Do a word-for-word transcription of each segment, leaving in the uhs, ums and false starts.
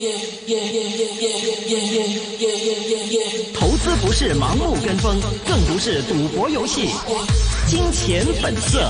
投資不是盲目跟風，更不是賭博遊戲。金錢本色。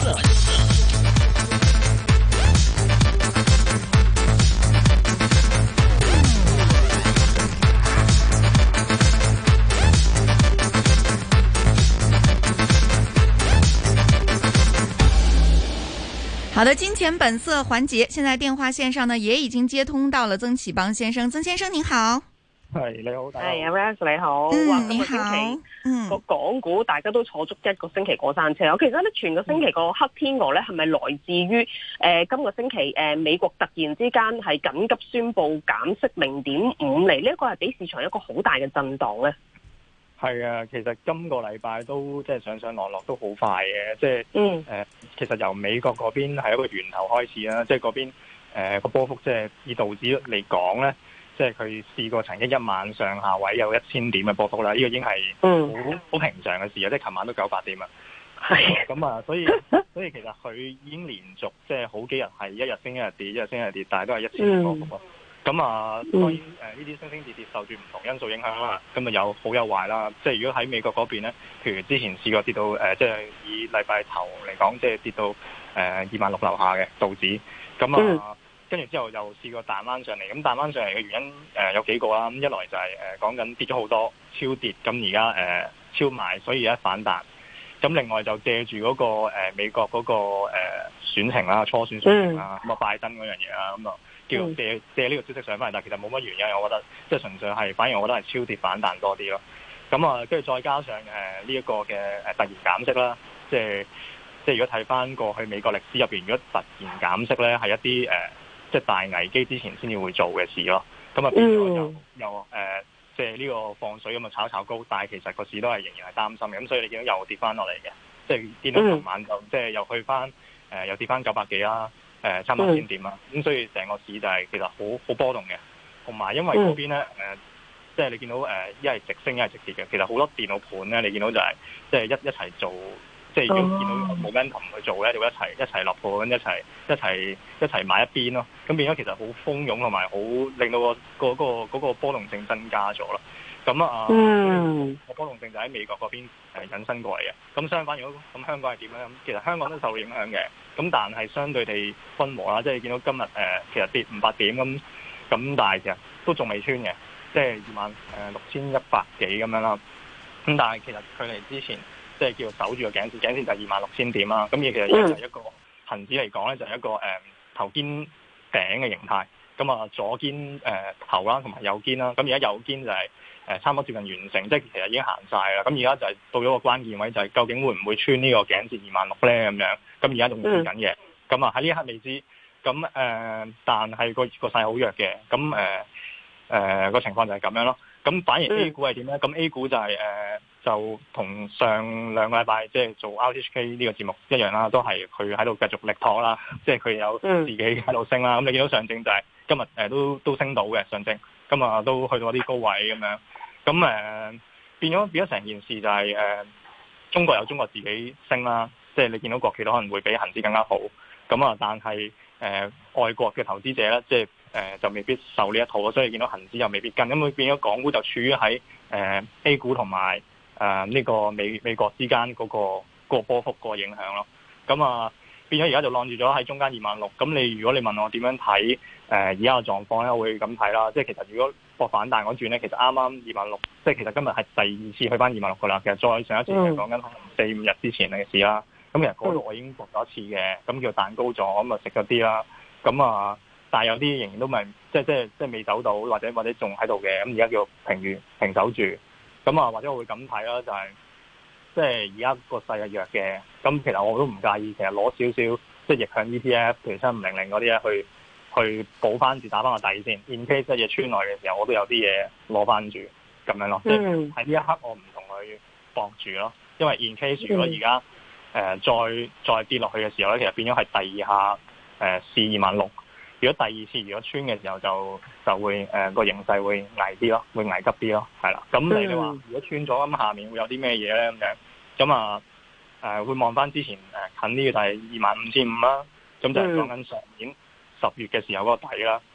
好的，金錢本色環節，現在電話線上呢也已經接通到了曾啟邦先生。曾先生您好。 係你好， 係阿 Rance 你好。 嗯， 哇你好。嗯， 個港股大家都坐足一個星期過山車。我其實咧，全個星期個黑天鵝咧，係咪來自於誒、呃、今個星期誒、呃、美國突然之間係緊急宣布減息零點五厘，呢一個係俾市場一個好大嘅震盪咧。 係啊，其實今個禮拜都即係上上落落都好快嘅，即係嗯、 呃、其實由美國嗰邊係一個源頭開始啦，即係嗰邊誒個波幅即係以道指嚟講咧，即係佢試過曾經一晚上下位有一千點嘅波幅啦，呢、這個已經係好好平常嘅事啊，即係琴晚都九百點啊。係咁啊，所以所以其實佢已經連續即係好幾日係一日升一日跌，一日升一日跌，但係都係一千點波幅啊。咁啊，當然誒呢啲升升跌跌受住唔同因素影響啦，咁啊有好有壞啦。即係如果喺美國嗰邊咧，譬如之前試過跌到誒、呃，即係以禮拜頭嚟講，即係跌到誒二萬六樓下嘅道指，咁啊跟住之後又試過彈翻上嚟。咁彈翻上嚟嘅原因誒、呃、有幾個啦。咁一來就係誒講緊跌咗好多超跌，咁而家誒超賣，所以而家反彈。咁另外就借住嗰、那個、呃、美國嗰、那個誒、呃、選情啦，初選選情啦，咁啊拜登嗰樣嘢啦，咁啊。叫借借呢個消息上翻嚟，但係其實冇乜原因，我覺得即係純粹係，反而我覺得係超跌反彈多啲咯。咁啊，跟住再加上誒呢一個嘅誒突然減息啦，即係即係如果睇翻過去美國歷史入邊，如果突然減息咧，係一啲誒、呃、即係大危機之前先至會做嘅事咯。咁啊變咗又又誒、呃、即係呢個放水咁啊炒炒高，但係其實個市都係仍然係擔心嘅。咁所以你見到又跌翻落嚟嘅，即係見到琴晚就即係又去翻誒、呃、又跌翻九百幾啦。誒差唔多千點啦，咁、嗯、所以成個市就係其實好好波動嘅，同埋因為嗰邊咧誒，即係你見到誒一係直升一係直跌嘅，其實好多電腦盤咧，你見到就係即係一一齊做，即係如果見到冇 momentum 去做咧，就會一齊一齊落盤，一齊一齊一齊買一邊咯，咁變咗其實好蜂擁同埋好令到個個嗰個嗰個波動性增加咗咯。咁啊，嗯，個波動性就喺美國嗰邊誒引申過嚟嘅。咁相反，如果咁香港係點咧？咁其實香港都受到影響嘅。咁但係相對地溫和啦，即係見到今日誒、呃、其實跌五百點咁，咁但係其實都仲未穿嘅，即係二萬誒六千一百幾咁樣啦。咁但係其實距離之前即係叫守住個頸線，頸線就係二萬六千點啦。咁而其實就係一個恆指嚟講咧，就係一個誒、呃、頭肩頂嘅形態。咁啊左肩誒、呃、頭啦，同埋右肩啦。咁而家右肩就係、是。誒差唔多接近完成，即係其實已經行晒啦。咁而家就係到咗個關鍵位，就係究竟會唔會穿呢個頸線二萬六咧？咁樣咁而家仲跌緊嘅。咁啊喺呢一刻未知。咁誒、呃，但係個個勢好弱嘅。咁誒誒個情況就係咁樣咯。咁反而 A 股係點咧？咁 A 股就係、是、誒、呃、就同上兩個禮拜即係做 R T H K 呢個節目一樣啦，都係佢喺度繼續力托啦。即係佢有自己喺度升啦。咁你見到上證就係今日誒都都升到嘅上證。咁啊，都去到一啲高位咁樣，咁誒、呃、變咗變咗成件事就係、是、誒、呃、中國有中國自己升啦，即係你見到國企都可能會比恒指更加好，咁啊，但係誒、呃、外國嘅投資者咧，即係誒、呃、就未必受呢一套咯，所以見到恒指又未必跟，咁佢變咗港股就處於喺誒、呃、A 股同埋誒呢個美美國之間嗰、那個嗰、那個波幅個影響咯，咁啊變咗而家就晾住咗喺中間二萬六，咁你如果你問我點樣睇？誒而家嘅狀況咧，我會咁睇啦。即係其實如果博反彈嗰轉咧，其實啱啱二萬六，即係其實今日係第二次去翻二萬六噶啦。其實再上一次係講緊可能四五日之前嘅事啦。咁其實嗰度我已經博咗一次嘅，咁叫彈高咗，咁啊食咗啲啦。咁啊，但係有啲仍然都未，即係即係即係未走到，或者或者仲喺度嘅。咁而家叫平住平守住。咁啊，或者我會咁睇啦，就係即係而家個勢係弱嘅。咁其實我都唔介意，其實攞少少即係逆向 E T F，譬如七五零零嗰啲咧去。去補翻住打翻個底先 ，in case 一嘢穿落嘅時候，我都有啲嘢攞翻住咁樣咯。即係喺呢一刻，我唔同佢搏住咯。因為 in case 如果而家誒再再跌落去嘅時候咧，其實變咗係第二下誒試二萬六。如果第二次如果穿嘅時候就，就就會誒個、呃、形勢會危啲咯，會危急啲咯，係啦。咁你哋話如果穿咗咁，下面會有啲咩嘢咧咁樣？咁啊誒會望翻之前誒近呢個就係二萬五千五啦。咁就係講緊上年十月嘅時候嗰個底啦。如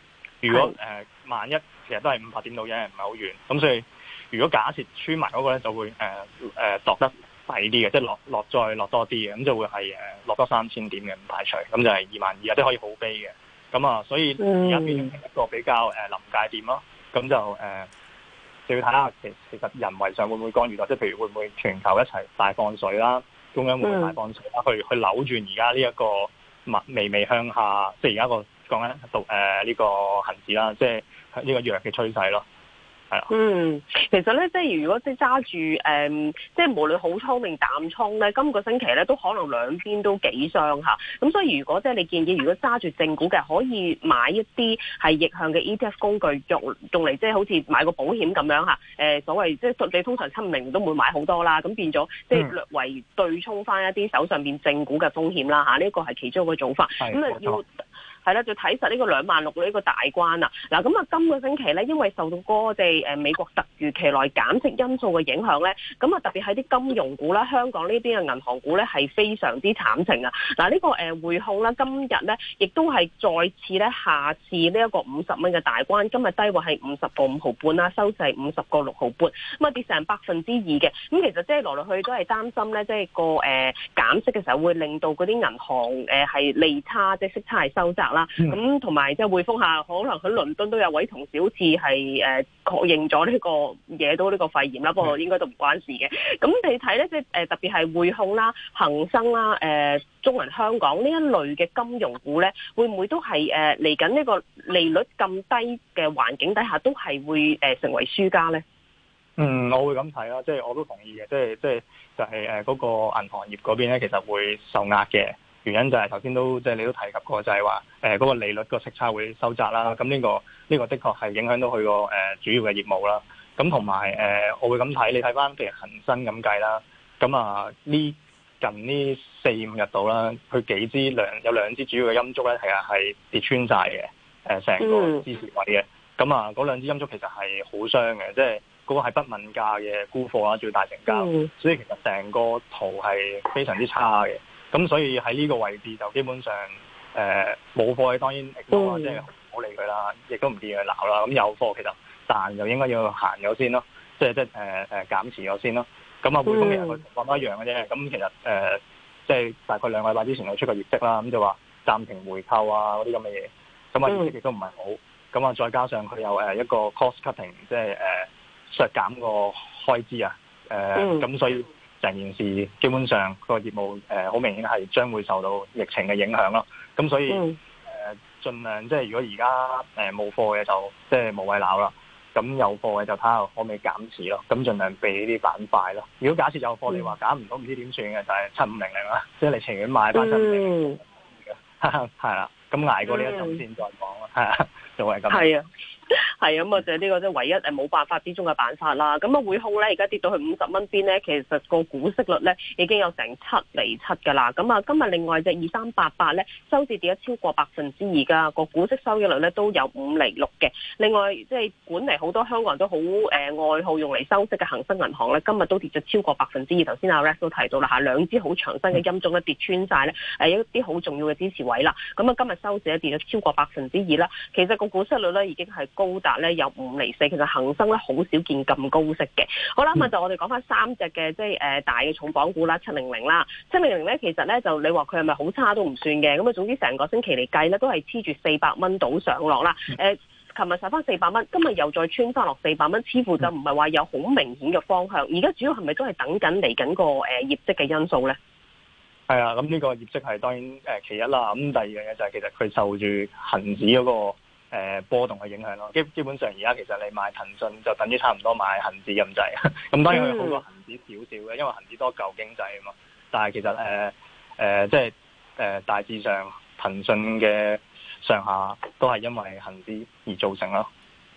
如果誒、呃、萬一其實都係五百點到嘅，唔係好遠。咁所以如果假設穿埋嗰個咧，就會誒誒度得抵啲嘅，即係落落再落多啲嘅，咁就會係誒落多三千點嘅，唔排除。咁就係二萬二啊，即係可以好悲嘅。咁啊，所以而家變成一個比較誒臨界點咯。咁就誒、呃、就要睇下其其實人為上會唔會干預到，即係譬如會唔會全球一齊大放水啦，中央會唔會大放水啦，去去扭轉而家呢一個微微向下，即係而家個講緊到誒呢個恆指啦，即係呢個弱嘅趨勢咯。係啊， 嗯，其實咧，即係如果即係揸住誒，即係無論好倉定淡倉咧，今個星期咧都可能兩邊都幾傷嚇。咁所以如果即係你建議，如果揸住正股嘅，可以買一啲係逆向嘅 E T F 工具，用用嚟即係好似買個保險咁樣嚇。誒，所謂即係你通常七五零都唔會買好多啦，咁變咗即係略為對沖翻一啲手上邊正股嘅風險啦嚇。呢個係其中一個做法。咁啊要。係啦，就睇實呢個兩萬六呢個大關啊！嗱，咁啊，今個星期咧，因為受到嗰個即係誒美國突如其來減息因素嘅影響咧，咁啊特別係啲金融股啦、香港呢邊嘅銀行股咧係非常之慘情啊！嗱，呢個誒匯控啦，今日咧亦都係再次咧下次呢一個五十蚊嘅大關，今日低位係五十個五毫半啦，收市係五十個六毫半，咁啊跌成百分之二嘅。咁其實即係來來去去都係擔心咧，即係個誒減息嘅時候會令到嗰啲銀行誒係利差，即係息差係收窄。咁同埋即係匯豐下，可能喺倫敦都有位同事好似係誒確認咗呢個惹到呢個肺炎啦，不過應該都唔關事嘅。咁你睇咧，即係誒特別係匯控啦、恒生啦、誒、呃、中銀香港呢一類嘅金融股咧，會唔會都係誒嚟緊呢個利率咁低嘅環境底下，都係會誒成為輸家咧？ 嗯，我會咁睇啦，即係我都同意嘅，即係即係就係誒嗰個銀行業嗰邊咧，其實會受壓嘅。原因就係頭先都即係你都提及過，就係話誒嗰個利率個息差會收窄啦。咁呢個呢個的確係影響到佢個誒主要嘅業務啦。咁同埋誒，我會咁睇，你睇翻譬如恒生咁計啦。咁啊呢近呢四五日度啦，佢幾支兩有兩支主要嘅陰燭咧，係啊係跌穿晒嘅誒成個支持位嘅。咁啊嗰兩支陰燭其實係好傷嘅，即係嗰個係不問價嘅沽貨啦，最大成交。嗯、所以其實成個圖係非常之差嘅。咁所以喺呢個位置就基本上誒冇貨嘅當然亦都話即係唔好理佢啦，亦都唔建議佢鬧啦。咁有貨其實彈就應該要行咗先咯，即係即係誒誒減持咗先咯。咁啊匯豐其實佢情況都一樣嘅啫。咁其實誒即係大概兩個禮拜之前佢出個業績啦，咁就話暫停回購啊嗰啲咁嘅嘢。咁啊業績亦都唔係好。咁啊再加上佢有誒一個 cost cutting，即係誒削減個開支啊。誒咁所以。成件事基本上個業務誒好、呃、明顯係將會受到疫情嘅影響咯，咁所以誒、嗯呃、盡量即係如果而家誒冇貨嘅就即係無謂鬧啦，咁有貨嘅就睇下可唔可以減持咯，咁盡量避呢啲板塊咯。如果假設有貨，嗯、你話減唔到唔知點算嘅就係七五零零啦，即係你情願買翻七五零嘅，係啦，咁捱過呢一陣先再講啦，係啊，就係咁。係啊。係咁啊，就係呢個即係唯一誒冇辦法之中嘅辦法啦。咁啊，匯控咧而家跌到去五十蚊邊咧，其實個股息率咧已經有成七厘七噶啦。咁啊，今日另外隻二三八八咧收市跌咗超過百分之二噶，個股息收益率咧都有五厘六嘅。另外即係管嚟好多香港人都好誒愛好用嚟收息嘅恒生銀行咧，今日都跌咗超過百分之二。頭先阿 Rex 都提到啦嚇，兩支好長身嘅陰燭咧跌穿晒咧誒一啲好重要嘅支持位啦。咁啊，今日收市咧跌咗超過百分之二啦。其實個股息率咧已經係高達咧有五厘四，其實恒生咧好少見咁高息嘅。好啦，咁啊就我哋講翻三隻嘅即係誒大嘅重磅股啦，七零零啦，七零零咧其實咧就你話佢係咪好差都唔算嘅，咁啊總之成個星期嚟計咧都係黐住四百蚊到上落啦。誒、呃，琴日上翻四百蚊，今日又再穿翻落四百蚊，似乎就唔係話有好明顯嘅方向。而家主要係咪都係等緊嚟緊個誒業績嘅因素咧？ 係啊，咁呢個業績係當然誒其一啦。咁第二樣嘢就係其實佢受住恒指嗰個。誒、呃、波動嘅影響咯，基基本上而家其實你買騰訊就等於差唔多買恒指咁滯，咁當然佢好過恒指少少嘅，因為恒指多舊經濟啊嘛。但係其實誒誒、呃呃、即係誒、呃、大致上騰訊嘅上下都係因為恒指而造成咯。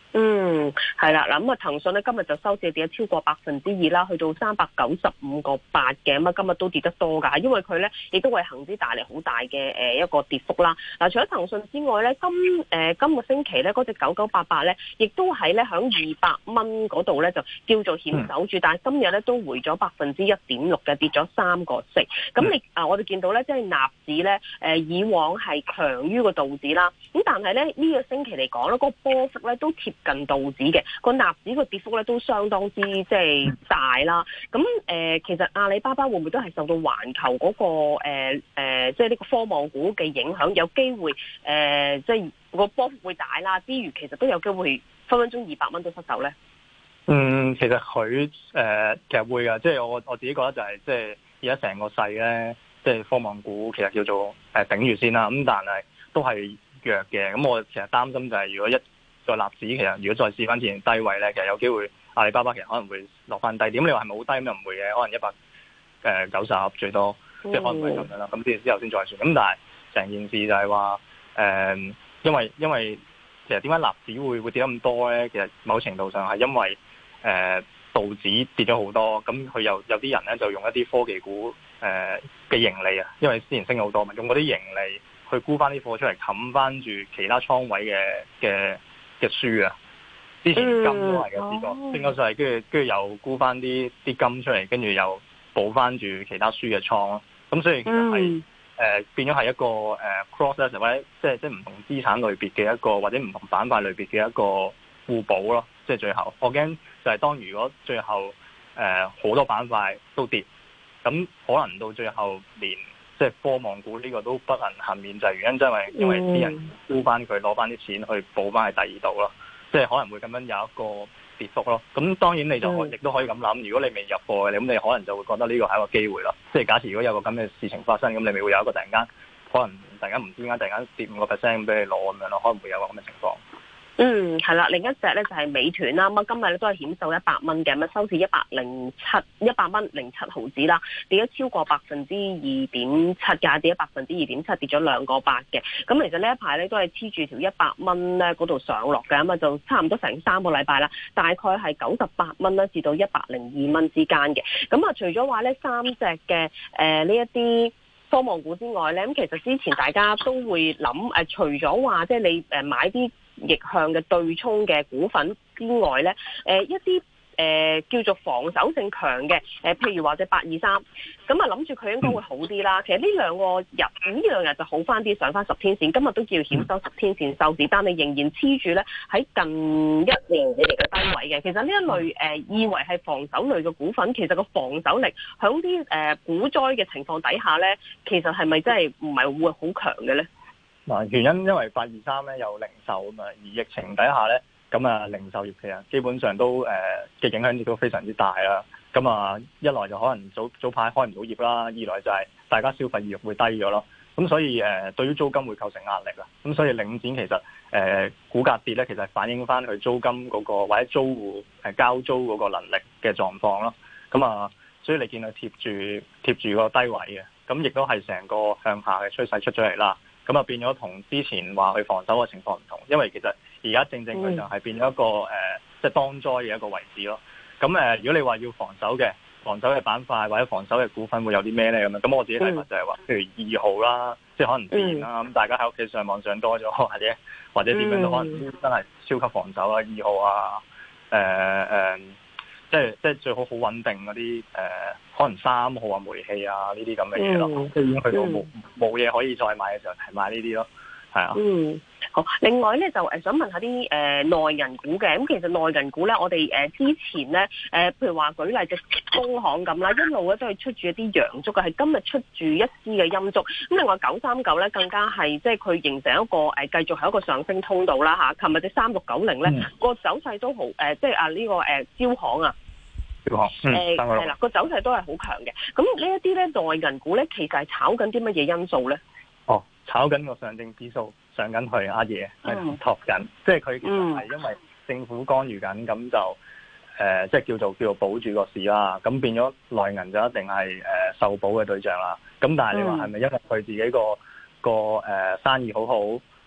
嗯，係啦，嗱咁啊，騰訊咧今日就收市跌咗超過百分之二啦，去到三百九十五個八嘅，咁啊今日都跌得多噶，因為佢咧亦都為恒指帶嚟好大嘅誒一個跌幅啦。嗱，除咗騰訊之外咧，今誒、呃、今個星期咧嗰隻九九八八咧，亦都喺咧響二百蚊嗰度咧就叫做險守住，嗯、但係今日咧都回咗百分之一點六嘅，跌咗三個四。咁你啊，我哋見到咧，即係納指咧，誒、呃、以往係強於個道指啦，咁但係咧呢、呢個星期嚟講咧，嗰、嗰個波幅咧都貼近道指嘅，個納指個跌幅咧都相當之即係大啦。咁誒、呃，其實阿里巴巴會唔會都係受到環球嗰、那個誒誒、呃呃，即係呢個科網股嘅影響，有機會誒、呃，即係個波幅會大啦。之餘，其實都有機會分分鐘二百蚊都失手咧。 嗯，其實佢誒、呃，其實會噶，即係我我自己覺得就係、是、即係而家成個勢咧，即係科網股其實叫做誒頂住先啦。咁但係都係弱嘅。咁我其實擔心就係如果一個納指其實如果再試翻之前低位咧，其實有機會阿里巴巴其實可能會落翻低點。你話係咪好低咁又唔會嘅，可能一百誒九十最多，即係可能會咁樣啦。咁之之後先再算。咁但係成件事就係話誒，因為因為其實點解納指會會跌得咁多咧？其實某程度上係因為誒、呃、道指跌咗好多，咁佢又有啲人咧就用一啲科技股誒嘅、呃、盈利啊，因為之前升好多嘛，用嗰啲盈利去沽翻啲貨出嚟冚翻住其他倉位嘅嘅。嘅輸啊！之前金都係嘅試過，升咗上嚟，跟住跟住又沽翻啲啲金出嚟，跟住又補翻住其他輸嘅倉咯。咁所以其實係誒、嗯呃、變咗係一個誒、呃、cross 咧，或者即係即係唔同資產類別嘅一個，或者唔同板塊類別嘅一個互補咯。即係最後，我驚就係當如果最後誒好、呃、多板塊都跌，咁可能到最後連即係科網股呢個都不能幸免，就係原因，因為因為啲人沽翻佢，攞翻啲錢去補翻喺第二度咯，即係可能會咁樣有一個跌幅咯。咁當然你就亦都可以咁諗，如果你未入貨嘅，咁你可能就會覺得呢個係一個機會咯。即係假設如果有個咁嘅事情發生，咁你咪會有一個突然間可能突然間唔知點解突然間跌五個 percent 俾你攞咁樣咯，可能會有個咁嘅情況。 嗯，係啦，另一隻咧就係美團啦，咁啊今日咧都係險守一百蚊嘅，咁啊收市一百零七一百蚊零七毫子啦，跌咗超過百分之二點七嘅，跌咗百分之二點七，跌咗兩個八嘅。咁其實呢一排咧都係黐住條一百蚊咧嗰度上落嘅，咁啊就差唔多成三個禮拜啦，大概係九十八蚊啦至到一百零二蚊之間嘅。咁啊除咗話呢三隻嘅誒呢一啲科網股之外咧，咁其實之前大家都會諗誒、呃，除咗話即係你誒買啲逆向嘅對沖嘅股份之外咧，誒、呃、一啲誒、呃、叫做防守性強嘅，誒、呃、譬如話隻八二三，咁啊諗住佢應該會好啲啦。其實呢兩個日呢兩日就好翻啲，上翻十天線，今日都叫險守十天線收市，但係仍然黐住咧喺近一年以嚟嘅低位嘅。其實呢一類誒、呃、以為係防守類嘅股份，其實個防守力喺啲誒股災嘅情況底下咧，其實係咪真係唔係會好強嘅咧？ 嗱，原因因為八二三咧有零售啊嘛，而疫情底下咧，咁啊零售業其實基本上都誒嘅、呃、影響亦都非常之大啦。咁啊一來就可能早早排開唔到業啦，二來就係大家消費意欲會低咗咯。咁所以誒、呃、對於租金會構成壓力啦。咁所以領展其實誒、呃、股價跌咧，其實反映翻佢租金嗰、那個或者租戶誒交租嗰個能力嘅狀況咯。咁啊，所以你見佢貼住貼住個低位嘅，咁亦都係成個向下嘅趨勢出咗嚟啦。咁啊變咗同之前話去防守嘅情況唔同，因為其實而家正正佢就係變咗一個誒、呃，即係當災嘅一個位置咯。咁誒、呃，如果你話要防守嘅防守嘅板塊或者防守嘅股份會有啲咩咧咁樣？咁我自己睇法就係話，譬如二號啦，即係可能電啦，咁大家喺屋企上網上多咗，或者或者點樣都可能真係超級防守啊，二號啊，誒、呃、誒。呃即係即係最好好穩定嗰啲誒，可能三號啊、煤氣啊呢啲咁嘅嘢咯，即係已經去到冇冇嘢可以再買嘅時候，係買呢啲咯，係啊。嗯， 好。另外咧就誒想問下啲誒內銀股嘅，咁其實內銀股咧，我哋誒、呃、之前咧誒、呃，譬如話舉例隻工行咁啦，一路咧都係出住一啲陽燭嘅，係今日出住一支嘅陰燭。咁另外九三九咧更加係即係佢形成一個誒、呃、繼續係一個上升通道啦嚇。琴日隻三六九零咧個走勢都好誒、呃，即係啊呢、這個誒、呃、招行啊。誒係啦，個走勢都係好強嘅。咁呢一啲咧內銀股咧，其實係炒緊啲乜嘢因素咧？ 哦，炒緊個上證指數上緊去，阿爺係托緊，即係佢其實係因為政府干預緊，咁就誒、呃、即係叫做叫做保住個市啦。咁變咗內銀就一定係誒、呃、受保嘅對象啦。咁但係你話係咪因為佢自己個個誒、呃、生意好好，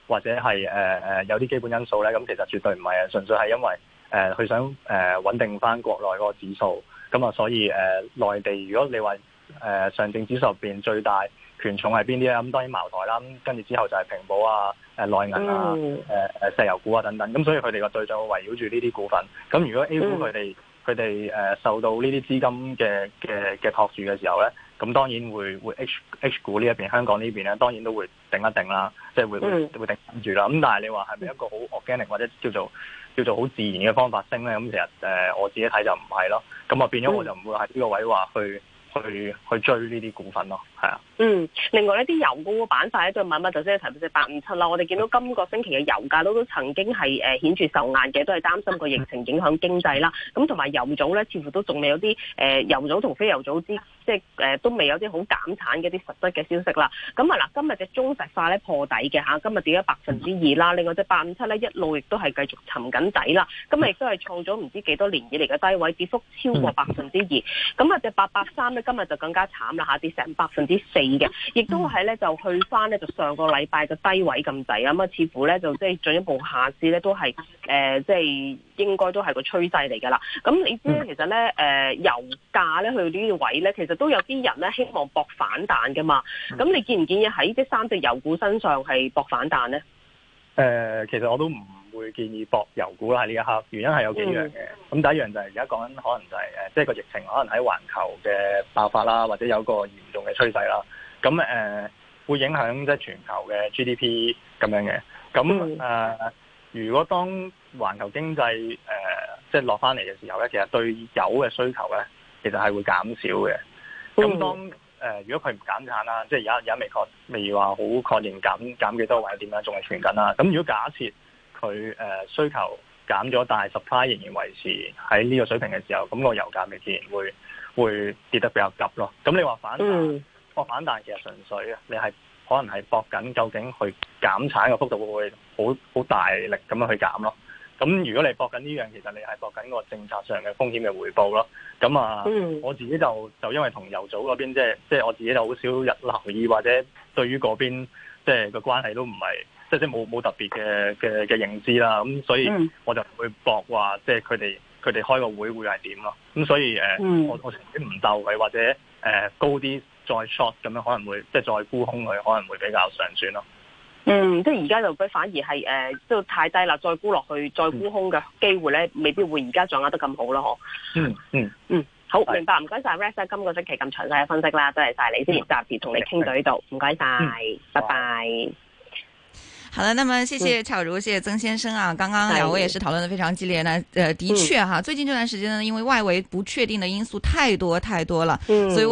或者係誒誒有啲基本因素咧，咁其實絕對唔係啊，純粹係因為誒佢、呃、想誒、呃、穩定翻國內嗰個指數，咁啊所以誒、呃、內地如果你話誒、呃、上證指數入邊最大權重係邊啲咧？咁當然茅台啦，咁跟住之後就係平保啊、誒內銀啊、誒誒、嗯呃、石油股啊等等，咁所以佢哋個對象會圍繞住呢啲股份。咁如果 A 股佢哋佢哋誒受到呢啲資金嘅嘅嘅托住嘅時候咧，咁當然會會 H H 股呢一邊香港呢邊咧，當然都會定一定啦，即係會會會定住啦。咁但係你話係咪一個好 organic 或者叫做叫做好自然嘅方法升咧？咁其實誒、呃、我自己睇就唔係咯。咁啊變咗我就唔會喺呢個位話去去去追呢啲股份咯，係啊。 嗯，另外呢啲油股板塊咧，再問一問頭先提到隻八五七啦。我哋見到今個星期嘅油價都都曾經係誒顯著受壓嘅，都係擔心個疫情影響經濟啦。咁同埋油組咧，似乎都仲未有啲誒、呃、油組同非油組之即係誒、呃、都未有啲好減產嘅啲實質嘅消息啦。咁啊嗱，今日隻中石化咧破底嘅嚇，今日跌咗百分之二啦。另外隻八五七咧一路亦都係繼續沉緊底啦。今日亦都係創咗唔知幾多年以嚟嘅低位，跌幅超過百分之二。咁啊隻八八三咧今日就更加慘啦嚇，跌成百分之四。嘅，亦都係咧就去翻咧就上個禮拜嘅低位咁滯啊，咁啊似乎咧就即係進一步下市咧都係誒即係應該都係個趨勢嚟㗎啦。咁你知咧其實咧誒、呃、油價咧去到呢啲位咧，其實都有啲人咧希望搏反彈㗎嘛。咁你建唔建議喺即三隻油股身上係搏反彈咧？誒、 呃，其實我都唔會建議搏油股啦喺呢一刻，原因係有幾樣嘅。咁、嗯、第一樣就係而家講緊可能就係、是、誒，即係個疫情可能喺環球嘅爆發啦，或者有個嚴重嘅趨勢啦。咁誒、呃、會影響即係全球嘅 G D P 咁樣嘅。咁誒、呃，如果當環球經濟誒、呃、即係落翻嚟嘅時候咧，其實對油嘅需求咧，其實係會減少嘅。咁當誒、呃、如果佢唔減產啦，即係而家而家未確未話好確認減減幾多或者點樣，仲係傳緊啦。咁如果假設佢誒、呃、需求減咗，但係 supply 仍然維持喺呢個水平嘅時候，咁、個油價咪自然會會跌得比較急咯。咁你話反彈？嗯博反彈其實純粹啊，你係可能係搏緊究竟去減產嘅幅度會唔會好好大力咁樣去減咯？咁如果你搏緊呢樣，其實你係搏緊個政策上嘅風險嘅回報咯。咁啊，嗯、我自己就就因為同油組嗰邊即係即係我自己就好少日留意，或者對於嗰邊即係個關係都唔係即係即係冇冇特別嘅嘅嘅認知啦。咁所以我就唔會搏話即係佢哋佢哋開個會會係點咯。咁所以誒、呃嗯，我我成日唔鬥佢或者誒、呃、高啲。再 short 咁樣可能會即係再沽空佢，可能會比較上選咯。 嗯，即係而家就反而係誒，都、呃、太低啦，再沽落去，再沽空嘅機會咧，未必會而家掌握得咁好咯，嗬。 嗯嗯嗯，好明白，唔該晒 Rex 今個星期咁詳細嘅分析啦，多謝晒你先，暫時同你傾到呢度，唔該晒，拜拜。 好的，那麼謝謝巧如，謝謝曾先生啊。剛剛兩位也是討論得非常激烈呢。呃，的確哈，最近這段時間呢，因為外圍不確定的因素太多太多了，所以。